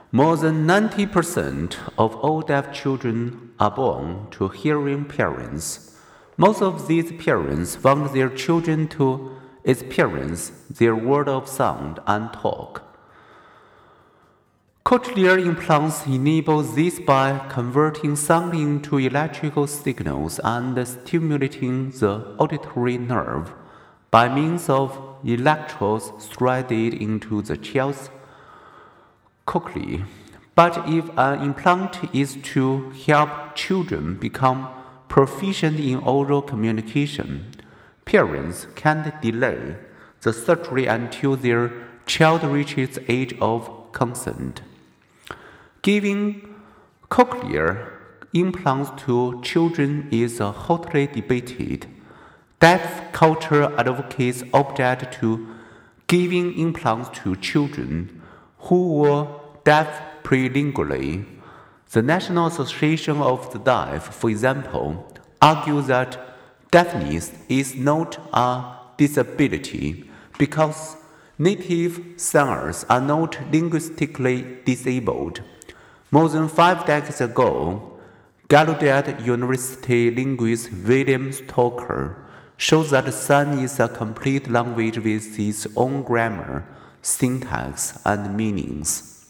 More than 90% of all deaf children are born to hearing parents. Most of these parents want their children to experience their world of sound and talk. Cochlear implants enable this by converting sound into electrical signals and stimulating the auditory nerve by means of electrodes threaded into the child's cochlea. But if an implant is to help children become proficient in oral communication, parents can't delay the surgery until their child reaches the age of consent. Giving cochlear implants to children is hotly debated. Deaf culture advocates object to giving implants to children who were deaf prelingually. The National Association of the Deaf, for example, argues that deafness is not a disability because native singers are not linguistically disabled. More than 5 decades ago, Gallaudet University linguist William Stoker showed that sign is a complete language with its own grammar, syntax, and meanings.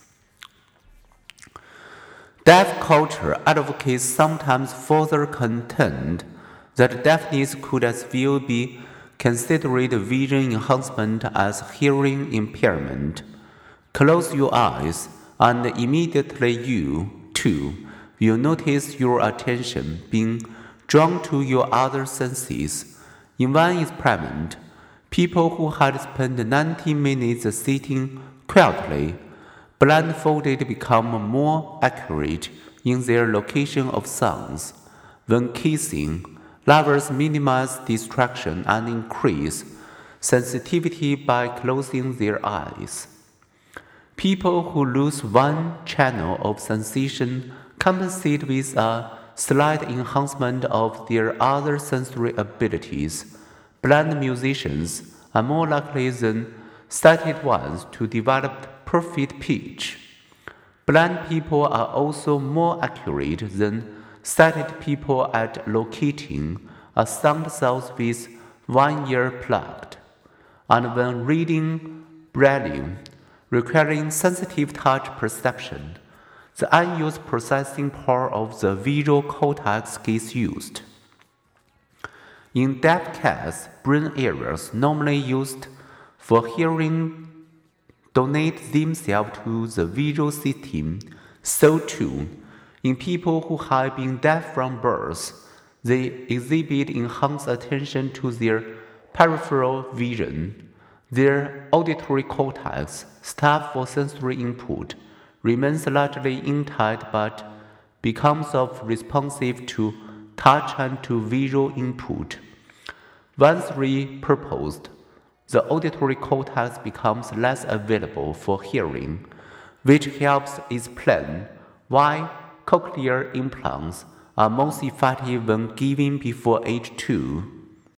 Deaf culture advocates sometimes further contend that deafness could as well be considered vision enhancement as hearing impairment. Close your eyes, and immediately you, too, will notice your attention being drawn to your other senses. In one experiment, people who had spent 90 minutes sitting quietly, blindfolded, become more accurate in their location of sounds. When kissing, lovers minimize distraction and increase sensitivity by closing their eyes. People who lose one channel of sensation compensate with a slight enhancement of their other sensory abilities. Blind musicians are more likely than sighted ones to develop perfect pitch. Blind people are also more accurate than sighted people at locating a sound source with one ear plugged. And when reading Braille, requiring sensitive touch perception, the unused processing power of the visual cortex gets used. In deaf cats, brain areas normally used for hearing donate themselves to the visual system. So too, in people who have been deaf from birth, they exhibit enhanced attention to their peripheral vision. Their auditory cortex, staffed for sensory input, remains largely intact but becomes responsive to touch and to visual input. Once repurposed, the auditory cortex becomes less available for hearing, which helps explain why cochlear implants are most effective when given before age 2.